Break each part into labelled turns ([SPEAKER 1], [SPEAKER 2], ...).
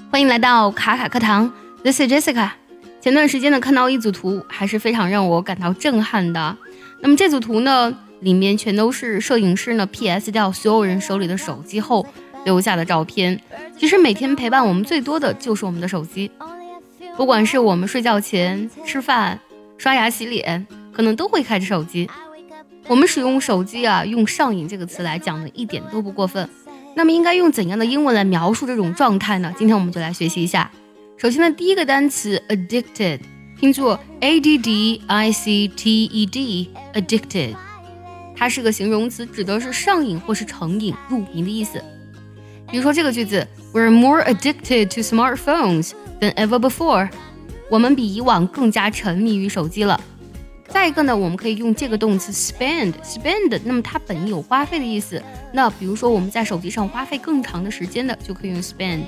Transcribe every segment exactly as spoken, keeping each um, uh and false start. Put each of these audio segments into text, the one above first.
[SPEAKER 1] 欢迎来到卡卡课堂 This is Jessica。 前段时间呢看到一组图还是非常让我感到震撼的。那么这组图呢里面全都是摄影师呢 P S 掉所有人手里的手机后留下的照片。其实每天陪伴我们最多的就是我们的手机，不管是我们睡觉前、吃饭、刷牙洗脸，可能都会开着手机。我们使用手机啊，用上瘾这个词来讲呢一点都不过分。那么应该用怎样的英文来描述这种状态呢？今天我们就来学习一下。首先呢，第一个单词 addicted 拼作 A D D I C T E D addicted， 它是个形容词，指的是上瘾或是成瘾、入迷的意思。比如说这个句子 We're more addicted to smartphones than ever before， 我们比以往更加沉迷于手机了。再一个呢，我们可以用这个动词 spend spend， 那么它本意有花费的意思。那比如说我们在手机上花费更长的时间的，就可以用 spend。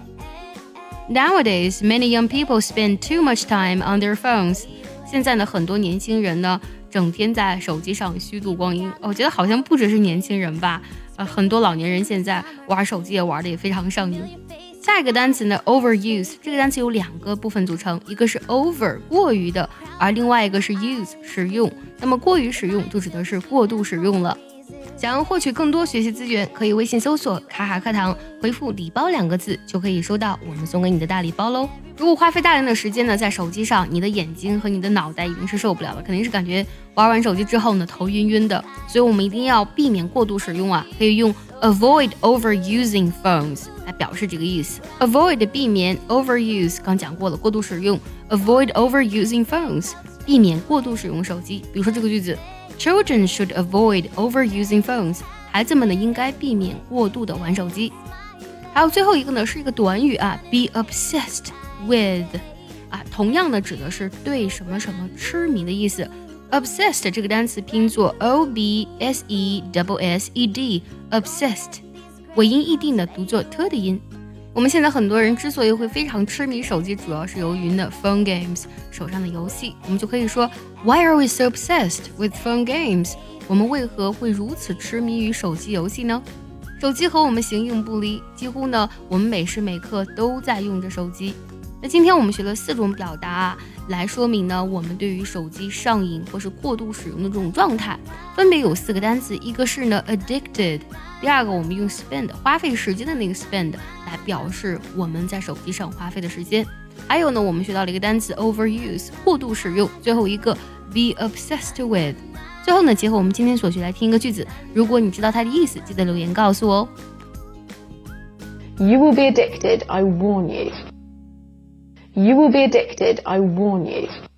[SPEAKER 1] Nowadays, many young people spend too much time on their phones。 现在呢，很多年轻人呢，整天在手机上虚度光阴。我觉得好像不只是年轻人吧，呃，很多老年人现在玩手机也玩的也非常上瘾。下一个单词呢 overuse， 这个单词有两个部分组成，一个是 over 过于的，而另外一个是 use 使用。那么过于使用就指的是过度使用了。想要获取更多学习资源，可以微信搜索卡卡课堂，回复礼包两个字就可以收到我们送给你的大礼包喽。如果花费大量的时间呢在手机上，你的眼睛和你的脑袋已经是受不了了，肯定是感觉玩完手机之后呢头晕晕的，所以我们一定要避免过度使用啊，可以用 avoid overusing phones 来表示这个意思。 avoid 避免， overuse 刚讲过了过度使用， avoid overusing phones 避免过度使用手机。比如说这个句子 Children should avoid overusing phones， 孩子们呢应该避免过度的玩手机。还有最后一个呢是一个短语啊 be obsessed with 啊，同样的指的是对什么什么痴迷的意思。 obsessed 这个单词拼作 O B S E S S E D obsessed， 尾音一定的读作 t 的音。我们现在很多人之所以会非常痴迷手机，主要是由于呢 phone games 手上的游戏。我们就可以说 Why are we so obsessed with phone games？ 我们为何会如此痴迷于手机游戏呢？手机和我们形影不离，几乎呢我们每时每刻都在用着手机。那今天我们学了四种表达啊，来说明呢我们对于手机上瘾或是过度使用的这种状态，分别有四个单词。一个是呢 addicted， 第二个我们用 spend 花费时间的那个 spend 来表示我们在手机上花费的时间。还有呢我们学到了一个单词 overuse 过度使用，最后一个 be obsessed with。 最后呢结合我们今天所学来听一个句子，如果你知道它的意思记得留言告诉我哦。
[SPEAKER 2] You will be addicted, I warn you. You will be addicted, I warn you.